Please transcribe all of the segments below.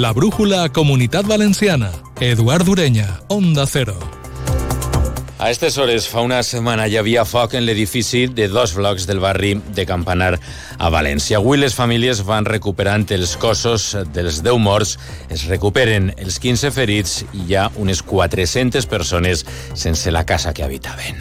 La brújula Comunitat Valenciana. Eduard Ureña, Onda Cero. A aquestes hores, fa una setmana, hi havia foc en l'edifici de 2 blocs del barri de Campanar a València. Avui les famílies van recuperant els cossos dels 10 morts, es recuperen els 15 ferits i hi ha unes 400 persones sense la casa que habitaven.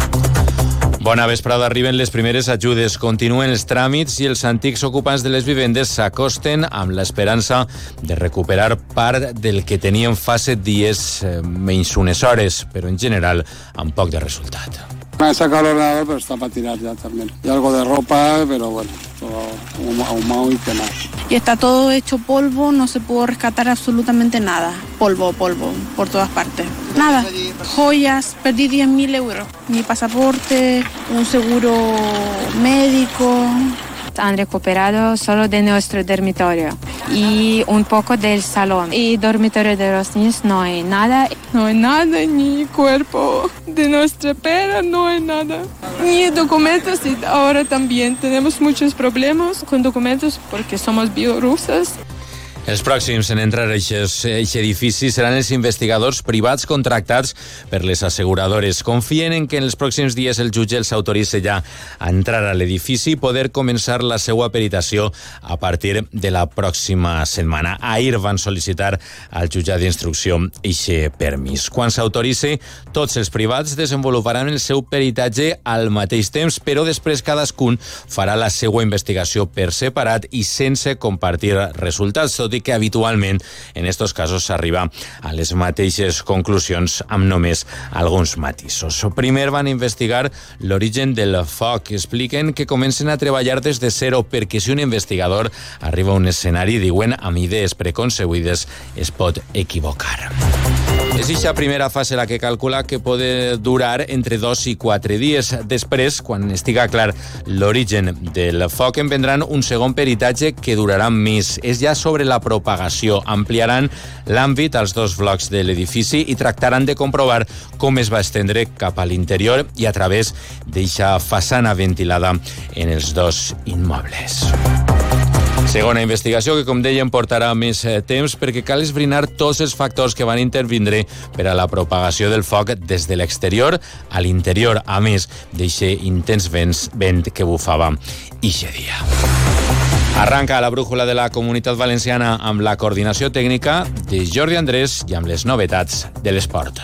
Bona vesprada, arriben les primeres ajudes, continuen els tràmits i els antics ocupants de les vivendes s'acosten amb l'esperança de recuperar part del que tenien fa 7 dies, menys unes hores, però en general amb poc de resultat. Me he sacado el ordenador, pero está para tirar ya también. Y algo de ropa, pero bueno, todo ahumado y quemado. Y está todo hecho polvo, no se pudo rescatar absolutamente nada. Polvo, por todas partes. Nada, joyas, perdí 10.000 euros. Mi pasaporte, un seguro médico. Han recuperado solo de nuestro dormitorio y un poco del salón. Y dormitorio de los niños no hay nada. No hay nada, ni cuerpo de nuestra pera, no hay nada. Ni documentos, y ahora también tenemos muchos problemas con documentos porque somos bielorrusas. Els pròxims en entrar a aquest edifici seran els investigadors privats contractats per les asseguradores. Confien en que en els pròxims dies el jutge els autoritzi ja a entrar a l'edifici i poder començar la seva peritació a partir de la pròxima setmana. Ahir van sol·licitar al jutjat d'instrucció eixe permís. Quan s'autoritzi, tots els privats desenvoluparan el seu peritatge al mateix temps, però després cadascun farà la seva investigació per separat i sense compartir resultats, tot i que habitualment en estos casos s'arriba a les mateixes conclusions amb només alguns matisos. Primer van investigar l'origen del foc. Expliquen que comencen a treballar des de zero perquè si un investigador arriba a un escenari, diuen, amb idees preconcebudes, es pot equivocar. És aquesta primera fase la que calcula que pot durar entre 2 i 4 dies. Després, quan estiga clar l'origen del foc, en vendran un segon peritatge que durarà més. És ja sobre la propagació. Ampliaran l'àmbit als 2 blocs de l'edifici i tractaran de comprovar com es va estendre cap a l'interior i a través d'eixa façana ventilada en els 2 immobles. Segona investigació que, com dèiem, portarà més temps perquè cal esbrinar tots els factors que van intervindre per a la propagació del foc des de l'exterior a l'interior, a més d'eixe intens vent que bufava eixe dia. Arranca la brújula de la Comunitat Valenciana amb la coordinació tècnica de Jordi Andrés i amb les novetats de l'esport.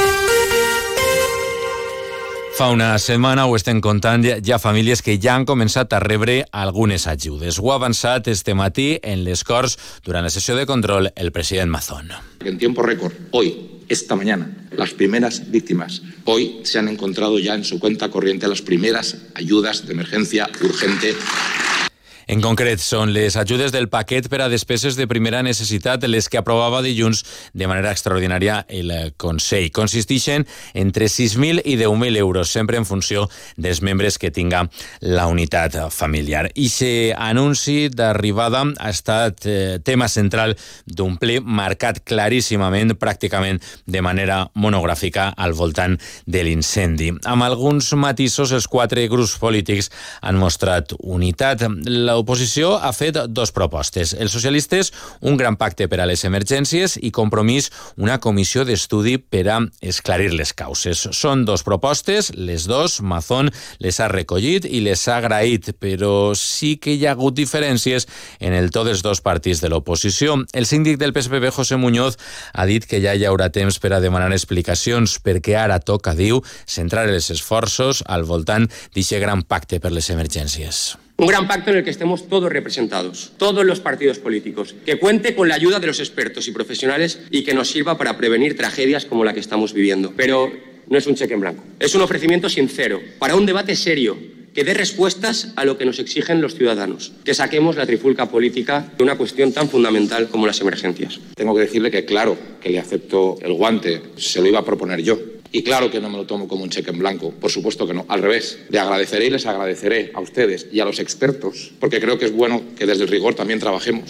Fa una setmana, ho estem contant, hi ha famílies que ja han començat a rebre algunes ajudes. Ho ha avançat este matí en les Corts durant la sessió de control el president Mazón. En tiempo récord, hoy, esta mañana, las primeras víctimas. Hoy se han encontrado ya en su cuenta corriente las primeras ayudas de emergencia urgente. En concret, són les ajudes del paquet per a despeses de primera necessitat, les que aprovava dilluns de manera extraordinària el Consell. Consisteixen entre 6.000 i 10.000 euros, sempre en funció dels membres que tinga la unitat familiar. I aquest anunci d'arribada ha estat tema central d'un ple marcat claríssimament, pràcticament de manera monogràfica, al voltant de l'incendi. Amb alguns matisos, els 4 grups polítics han mostrat unitat. L'oposició ha fet 2 propostes. Els socialistes, un gran pacte per a les emergències i Compromís, una comissió d'estudi per a esclarir les causes. Són 2 propostes, les 2, Mazón les ha recollit i les ha agraït, però sí que hi ha hagut diferències en el to dels 2 partits de l'oposició. El síndic del PSPB, José Muñoz, ha dit que ja hi haurà temps per a demanar explicacions, perquè ara toca, diu, centrar els esforços al voltant d'aquest gran pacte per les emergències. Un gran pacto en el que estemos todos representados, todos los partidos políticos, que cuente con la ayuda de los expertos y profesionales y que nos sirva para prevenir tragedias como la que estamos viviendo. Pero no es un cheque en blanco, es un ofrecimiento sincero para un debate serio que dé respuestas a lo que nos exigen los ciudadanos, que saquemos la trifulca política de una cuestión tan fundamental como las emergencias. Tengo que decirle que claro que le acepto el guante, se lo iba a proponer yo. Y claro que no me lo tomo como un cheque en blanco, por supuesto que no, al revés. Le agradeceré y les agradeceré a ustedes y a los expertos, porque creo que es bueno que desde el rigor también trabajemos.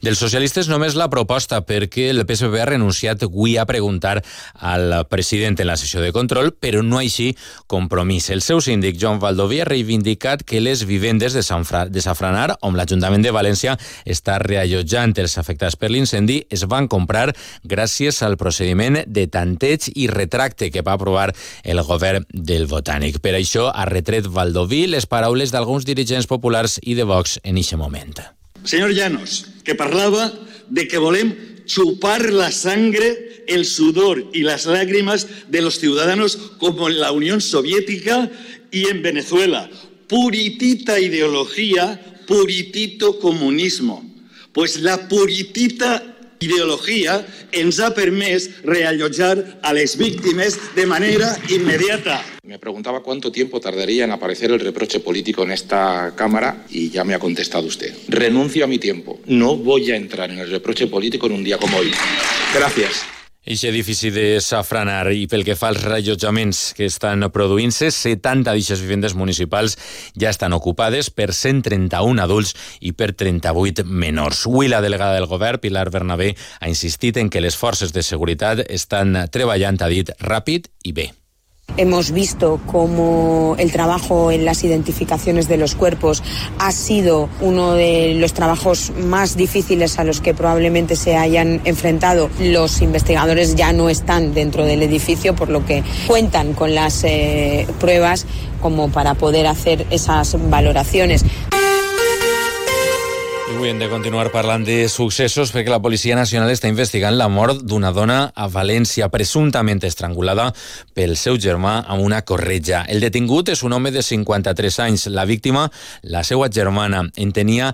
Dels socialistes només la proposta, perquè el PSPB ha renunciat avui a preguntar al president en la sessió de control, però no així compromís. El seu síndic, Joan Baldoví, ha reivindicat que les vivendes de Safranar, on l'Ajuntament de València està reallotjant els afectats per l'incendi, es van comprar gràcies al procediment de tanteig i retracte que va aprovar el govern del Botànic. Per això ha retret Baldoví les paraules d'alguns dirigents populars i de Vox en aquest moment. Señor Llanos, que parlava de que volem chupar la sangre, el sudor y las lágrimas de los ciudadanos como en la Unión Soviética y en Venezuela. Puritita ideología, puritito comunismo. Pues la puritita ideología ens ha permès reallotjar a les víctimes de manera inmediata. Me preguntaba cuánto tiempo tardaría en aparecer el reproche político en esta Cámara y ya me ha contestado usted. Renuncio a mi tiempo. No voy a entrar en el reproche político en un día como hoy. Gracias. Aquest edifici de Safranar, i pel que fa als reallotjaments que estan produint-se, 70 d'aquestes vivendes municipals ja estan ocupades per 131 adults i per 38 menors. Avui la delegada del govern, Pilar Bernabé, ha insistit en que les forces de seguretat estan treballant, ha dit, ràpid i bé. Hemos visto cómo el trabajo en las identificaciones de los cuerpos ha sido uno de los trabajos más difíciles a los que probablemente se hayan enfrentado. Los investigadores ya no están dentro del edificio, por lo que cuentan con las pruebas como para poder hacer esas valoraciones. Avui hem de continuar parlant de successos perquè la Policia Nacional està investigant la mort d'una dona a València, presumptament estrangulada pel seu germà amb una corretja. El detingut és un home de 53 anys. La víctima, la seva germana, en tenia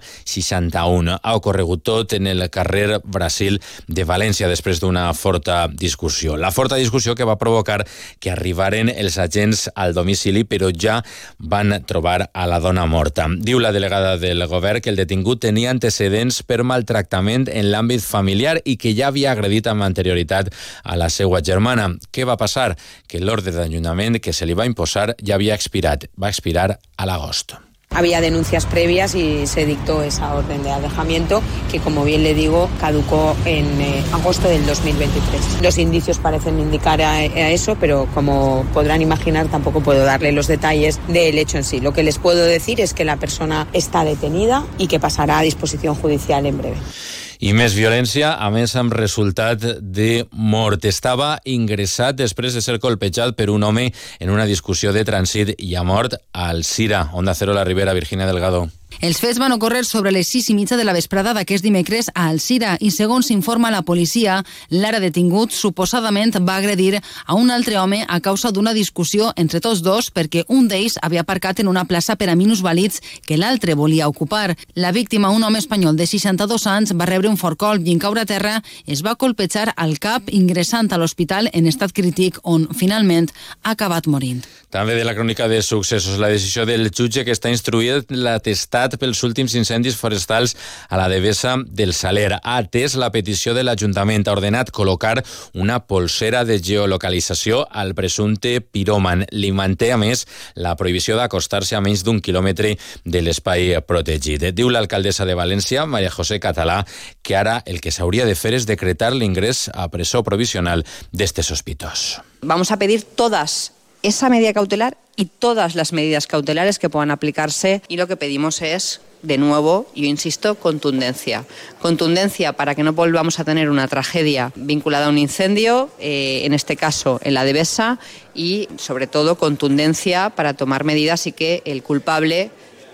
61. Ha ocorregut tot en el carrer Brasil de València després d'una forta discussió. La forta discussió que va provocar que arribaren els agents al domicili, però ja van trobar a la dona morta. Diu la delegada del govern que el detingut tenia antecedents per maltractament en l'àmbit familiar i que ja havia agredit amb anterioritat a la seva germana. Què va passar? Que l'ordre d'allunyament que se li va imposar ja havia expirat. Va expirar a l'agost. Había denuncias previas y se dictó esa orden de alejamiento que, como bien le digo, caducó en agosto del 2023. Los indicios parecen indicar a eso, pero como podrán imaginar tampoco puedo darle los detalles del hecho en sí. Lo que les puedo decir es que la persona está detenida y que pasará a disposición judicial en breve. I més violència, a més amb resultat de mort. Estava ingressat després de ser colpejat per un home en una discussió de trànsit i ha mort a Alzira. Onda Cero, la Ribera, Virginia Delgado. Els fets van ocórrer sobre les 6:30 de la vesprada d'aquest dimecres a Alzira i, segons informa la policia, l'ara detingut suposadament va agredir a un altre home a causa d'una discussió entre tots dos perquè un d'ells havia aparcat en una plaça per a minusvàlids que l'altre volia ocupar. La víctima, un home espanyol de 62 anys, va rebre un fort colp i en caure a terra es va colpejar al cap, ingressant a l'hospital en estat crític, on finalment ha acabat morint. També de la crònica de successos, la decisió del jutge que està instruït l'atestat pels últims incendis forestals a la Devesa del Saler. Ha atès la petició de l'Ajuntament, ha ordenat col·locar una polsera de geolocalització al presumpte piròman. Li manté, a més, la prohibició d'acostar-se a menys d'un quilòmetre de l'espai protegit. Diu l'alcaldessa de València, María José Català, que ara el que s'hauria de fer és decretar l'ingrés a presó provisional d'este sospitós. Vamos a pedir todas esa medida cautelar y todas las medidas cautelares que puedan aplicarse, y lo que pedimos es, de nuevo, yo insisto, contundencia. Contundencia para que no volvamos a tener una tragedia vinculada a un incendio, en este caso en la Devesa, y sobre todo contundencia para tomar medidas y que el culpable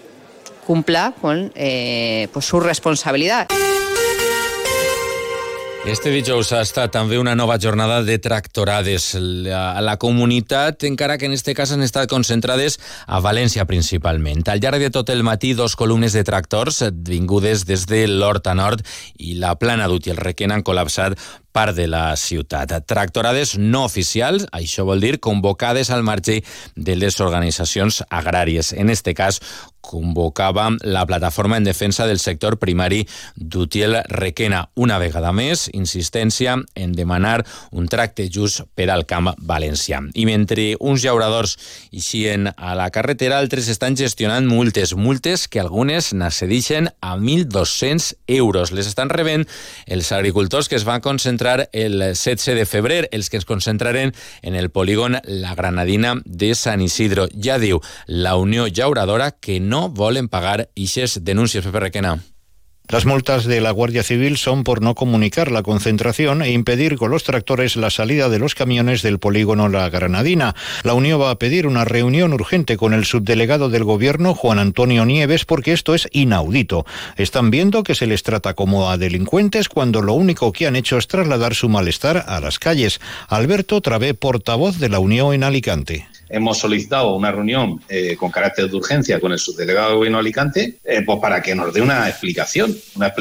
cumpla con pues su responsabilidad. Este dijous ha estat també una nova jornada de tractorades a la comunitat, encara que en este cas han estat concentrades a València principalment. Al llarg de tot el matí, 2 columnes de tractors vingudes des de l'Horta Nord i la Plana d'Ut i el Requena han col·lapsat part de la ciutat. Tractorades no oficials, això vol dir convocades al marge de les organitzacions agràries. En este cas, convocava la plataforma en defensa del sector primari d'Utiel-Requena. Una vegada més, insistència en demanar un tracte just per al camp valencià. I mentre uns llauradors eixien a la carretera, altres estan gestionant multes que algunes n'accedixen a 1.200 euros. Les estan rebent els agricultors que es van concentrar el 16 de febrer, els que es concentraren en el polígon La Granadina de Sant Isidro. Ja diu la Unió Llauradora que no volen pagar ixes denúncies, Pepe Requena. Las multas de la Guardia Civil son por no comunicar la concentración e impedir con los tractores la salida de los camiones del polígono La Granadina. La Unión va a pedir una reunión urgente con el subdelegado del Gobierno, Juan Antonio Nieves, porque esto es inaudito. Están viendo que se les trata como a delincuentes cuando lo único que han hecho es trasladar su malestar a las calles. Alberto Travé, portavoz de la Unión en Alicante. Hemos solicitado una reunión con carácter de urgencia con el subdelegado del Gobierno de Alicante pues para que nos dé una explicación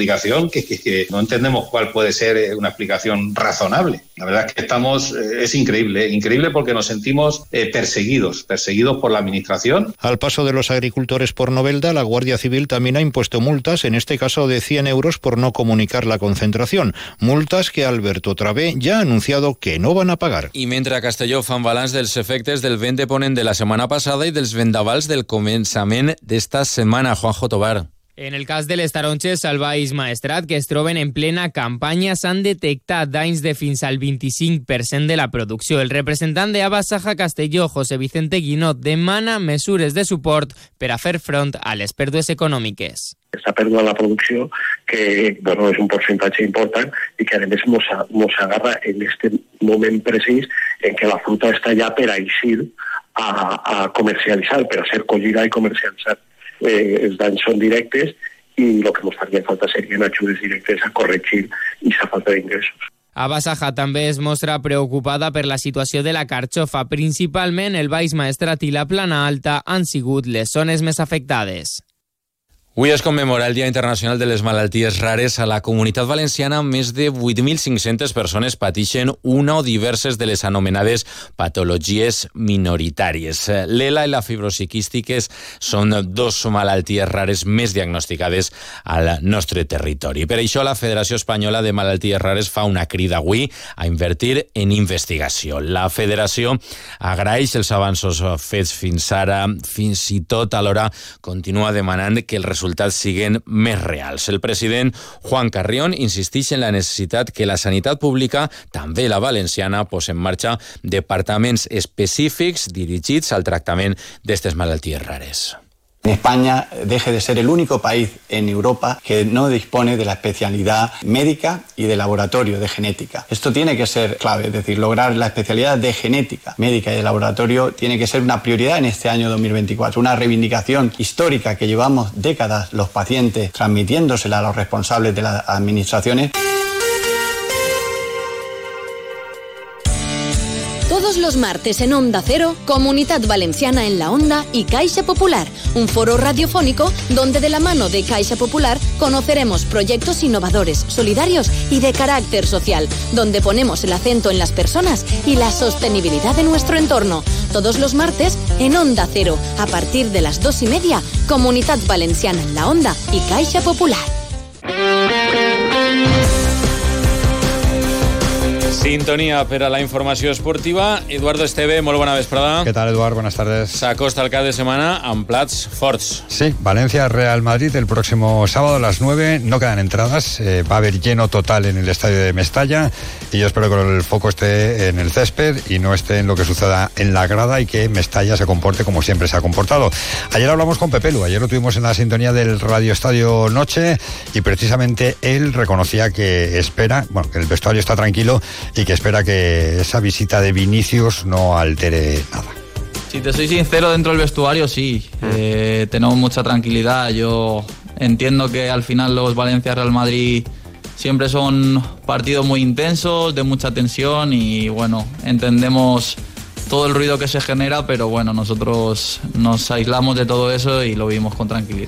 que no entendemos cuál puede ser una explicación razonable. La verdad es que es increíble porque nos sentimos perseguidos por la Administración. Al paso de los agricultores por Novelda, la Guardia Civil también ha impuesto multas, en este caso de 100 euros por no comunicar la concentración. Multas que Alberto Travé ya ha anunciado que no van a pagar. I mentre a Castelló fan balanç dels efectes del vent de ponent de la setmana passada i dels vendavals del començament d'esta setmana, Juanjo Tobar. En el cas de les taronges al Baix Maestrat, que es troben en plena campanya, s'han detectat danys de fins al 25% de la producció. El representant de Abasaja Castelló, José Vicente Guinot, demana mesures de suport per a fer front a les pèrdues econòmiques. Esta pèrdua de la producció, que és un percentatge important i que a més nos agarra en este moment precís en què la fruta està ja per a eixir a comercialitzar, per a ser collida i comercialitzar. Els danys són directes i el que ens faria falta serien ajudes directes a corregir aquesta falta d'ingressos. Abasaja també es mostra preocupada per la situació de la carxofa. Principalment el Baix Maestrat i la Plana Alta han sigut les zones més afectades. Avui es commemora el Dia Internacional de les Malalties Rares. A la Comunitat Valenciana, més de 8.500 persones pateixen una o diverses de les anomenades patologies minoritàries. L'ELA i la fibrosi quístiques són dos malalties rares més diagnosticades al nostre territori. Per això la Federació Espanyola de Malalties Rares fa una crida avui a invertir en investigació. La Federació agraeix els avanços fets fins ara, fins i tot alhora continua demanant que els resultats siguen més reals. El president Juan Carrión insisteix en la necessitat que la sanitat pública, també la valenciana, posi en marxa departaments específics dirigits al tractament d'aquestes malalties rares. España deje de ser el único país en Europa que no dispone de la especialidad médica y de laboratorio de genética. Esto tiene que ser clave, es decir, lograr la especialidad de genética médica y de laboratorio tiene que ser una prioridad en este año 2024, una reivindicación histórica que llevamos décadas los pacientes transmitiéndosela a los responsables de las administraciones. Todos los martes en Onda Cero, Comunidad Valenciana en la Onda y Caixa Popular, un foro radiofónico donde de la mano de Caixa Popular conoceremos proyectos innovadores, solidarios y de carácter social, donde ponemos el acento en las personas y la sostenibilidad de nuestro entorno. Todos los martes en Onda Cero, a partir de las 2:30, Comunidad Valenciana en la Onda y Caixa Popular. Sintonia per a la informació esportiva. Eduardo Esteve, molt bona vesprada. ¿Qué tal, Eduardo? Buenas tardes. S'acosta el cap de setmana amb plats forts. Sí, Valencia-Real Madrid el próximo sábado a las 9. No quedan entradas. Va a haber lleno total en el estadio de Mestalla. Y yo espero que el foco esté en el césped y no esté en lo que suceda en la grada y que Mestalla se comporte como siempre se ha comportado. Ayer hablamos con Pepelu. Ayer lo tuvimos en la sintonía del Radio Estadio Noche y precisamente él reconocía que espera, bueno, que el vestuario está tranquilo y que espera que esa visita de Vinicius no altere nada. Si te soy sincero, dentro del vestuario sí, tenemos mucha tranquilidad. Yo entiendo que al final los Valencia-Real Madrid siempre son partidos muy intensos, de mucha tensión y bueno, entendemos todo el ruido que se genera, pero bueno, nosotros nos aislamos de todo eso y lo vivimos con tranquilidad.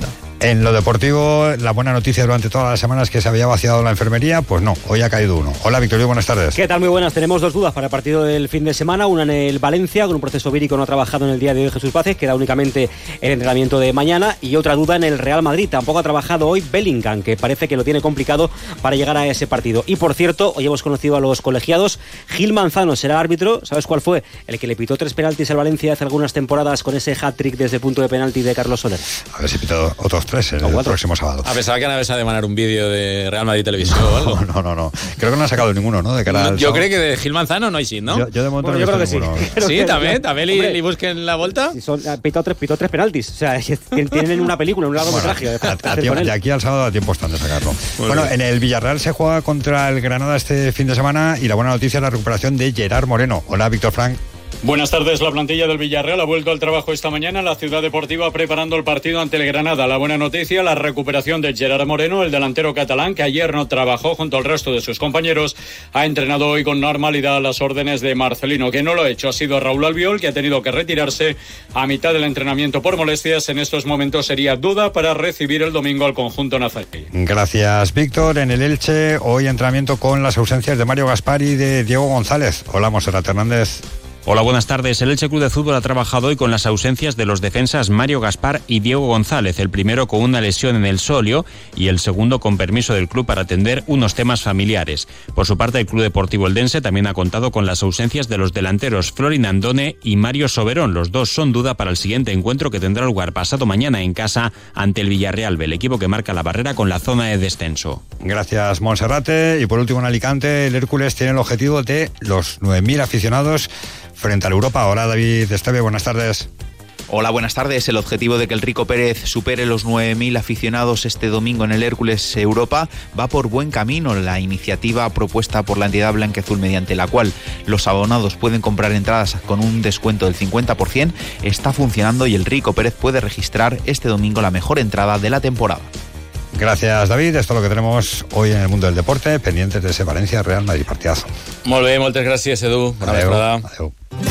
En lo deportivo, la buena noticia durante todas las semanas que se había vaciado la enfermería, pues no, hoy ha caído uno. Hola, Victorio, buenas tardes. ¿Qué tal? Muy buenas. Tenemos dos dudas para el partido del fin de semana. Una en el Valencia, con un proceso vírico no trabajado en el día de hoy Jesús Vázquez, queda únicamente el entrenamiento de mañana. Y otra duda en el Real Madrid, tampoco ha trabajado hoy Bellingham, que parece que lo tiene complicado para llegar a ese partido. Y por cierto, hoy hemos conocido a los colegiados. Gil Manzano será árbitro. ¿Sabes cuál fue? El que le pitó 3 penaltis al Valencia hace algunas temporadas con ese hat-trick desde el punto de penalti de Carlos Soler. A ver si pitó otros 3 el próximo sábado. A pesar que Naves ha de mandar un vídeo de Real Madrid Televisión o algo. No. Creo que no han sacado ninguno, ¿no? De cara al yo creo que de Gil Manzano no hay sí, ¿no? Yo de momento no he visto ninguno. Sí, también li busquen la vuelta. Si pitó 3 penaltis. O sea, tienen una película, un largometraje. De aquí al sábado a tiempo están de sacarlo. Bueno, en el Villarreal se juega contra el Granada este fin de semana y la buena noticia es la recuperación de Gerard Moreno. Hola, Víctor Frank. Buenas tardes. La plantilla del Villarreal ha vuelto al trabajo esta mañana en la Ciudad Deportiva preparando el partido ante el Granada. La buena noticia, la recuperación de Gerard Moreno, el delantero catalán, que ayer no trabajó junto al resto de sus compañeros. Ha entrenado hoy con normalidad a las órdenes de Marcelino. Que no lo ha hecho ha sido Raúl Albiol, que ha tenido que retirarse a mitad del entrenamiento por molestias. En estos momentos sería duda para recibir el domingo al conjunto nazarí. Gracias, Víctor. En el Elche, hoy entrenamiento con las ausencias de Mario Gaspar y de Diego González. Hola, Monserrat Hernández. Hola, buenas tardes. El Elche Club de Fútbol ha trabajado hoy con las ausencias de los defensas Mario Gaspar y Diego González, el primero con una lesión en el sóleo y el segundo con permiso del club para atender unos temas familiares. Por su parte, el Club Deportivo Eldense también ha contado con las ausencias de los delanteros Florin Andone y Mario Soberón. Los dos son duda para el siguiente encuentro que tendrá lugar pasado mañana en casa ante el Villarreal, el equipo que marca la barrera con la zona de descenso. Gracias, Monserrate. Y por último, en Alicante, el Hércules tiene el objetivo de los 9.000 aficionados frente a la Europa. Hola, David Esteve, buenas tardes. Hola, buenas tardes. El objetivo de que el Rico Pérez supere los 9.000 aficionados este domingo en el Hércules Europa va por buen camino. La iniciativa propuesta por la entidad blanquiazul, mediante la cual los abonados pueden comprar entradas con un descuento del 50%, está funcionando y el Rico Pérez puede registrar este domingo la mejor entrada de la temporada. Gracias, David. Esto es lo que tenemos hoy en el mundo del deporte, pendientes de ese Valencia-Real Madrid partidazo. Molt bé, moltes gràcies, Edu. Bona vesprada. Adéu.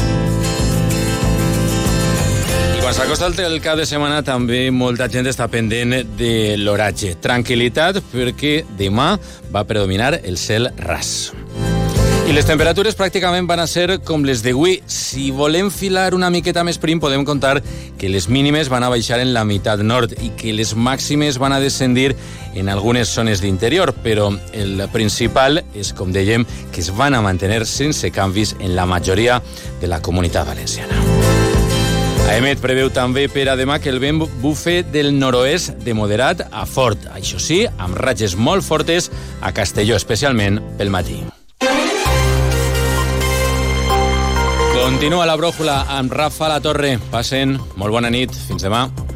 I quan s'acosta el cap de setmana també molta gent està pendent de l'oratge. Tranquil·litat perquè demà va predominar el cel ras. I les temperatures pràcticament van a ser com les d'avui. Si volem filar una miqueta més prim, podem contar que les mínimes van a baixar en la meitat nord i que les màximes van a descendir en algunes zones d'interior, però el principal és, com dèiem, que es van a mantenir sense canvis en la majoria de la comunitat valenciana. AEMET preveu també per a demà que el vent bufe del nord-oest de moderat a fort. Això sí, amb ratxes molt fortes a Castelló, especialment pel matí. Continua la brújula amb Rafa La Torre. Passen molt bona nit. Fins demà.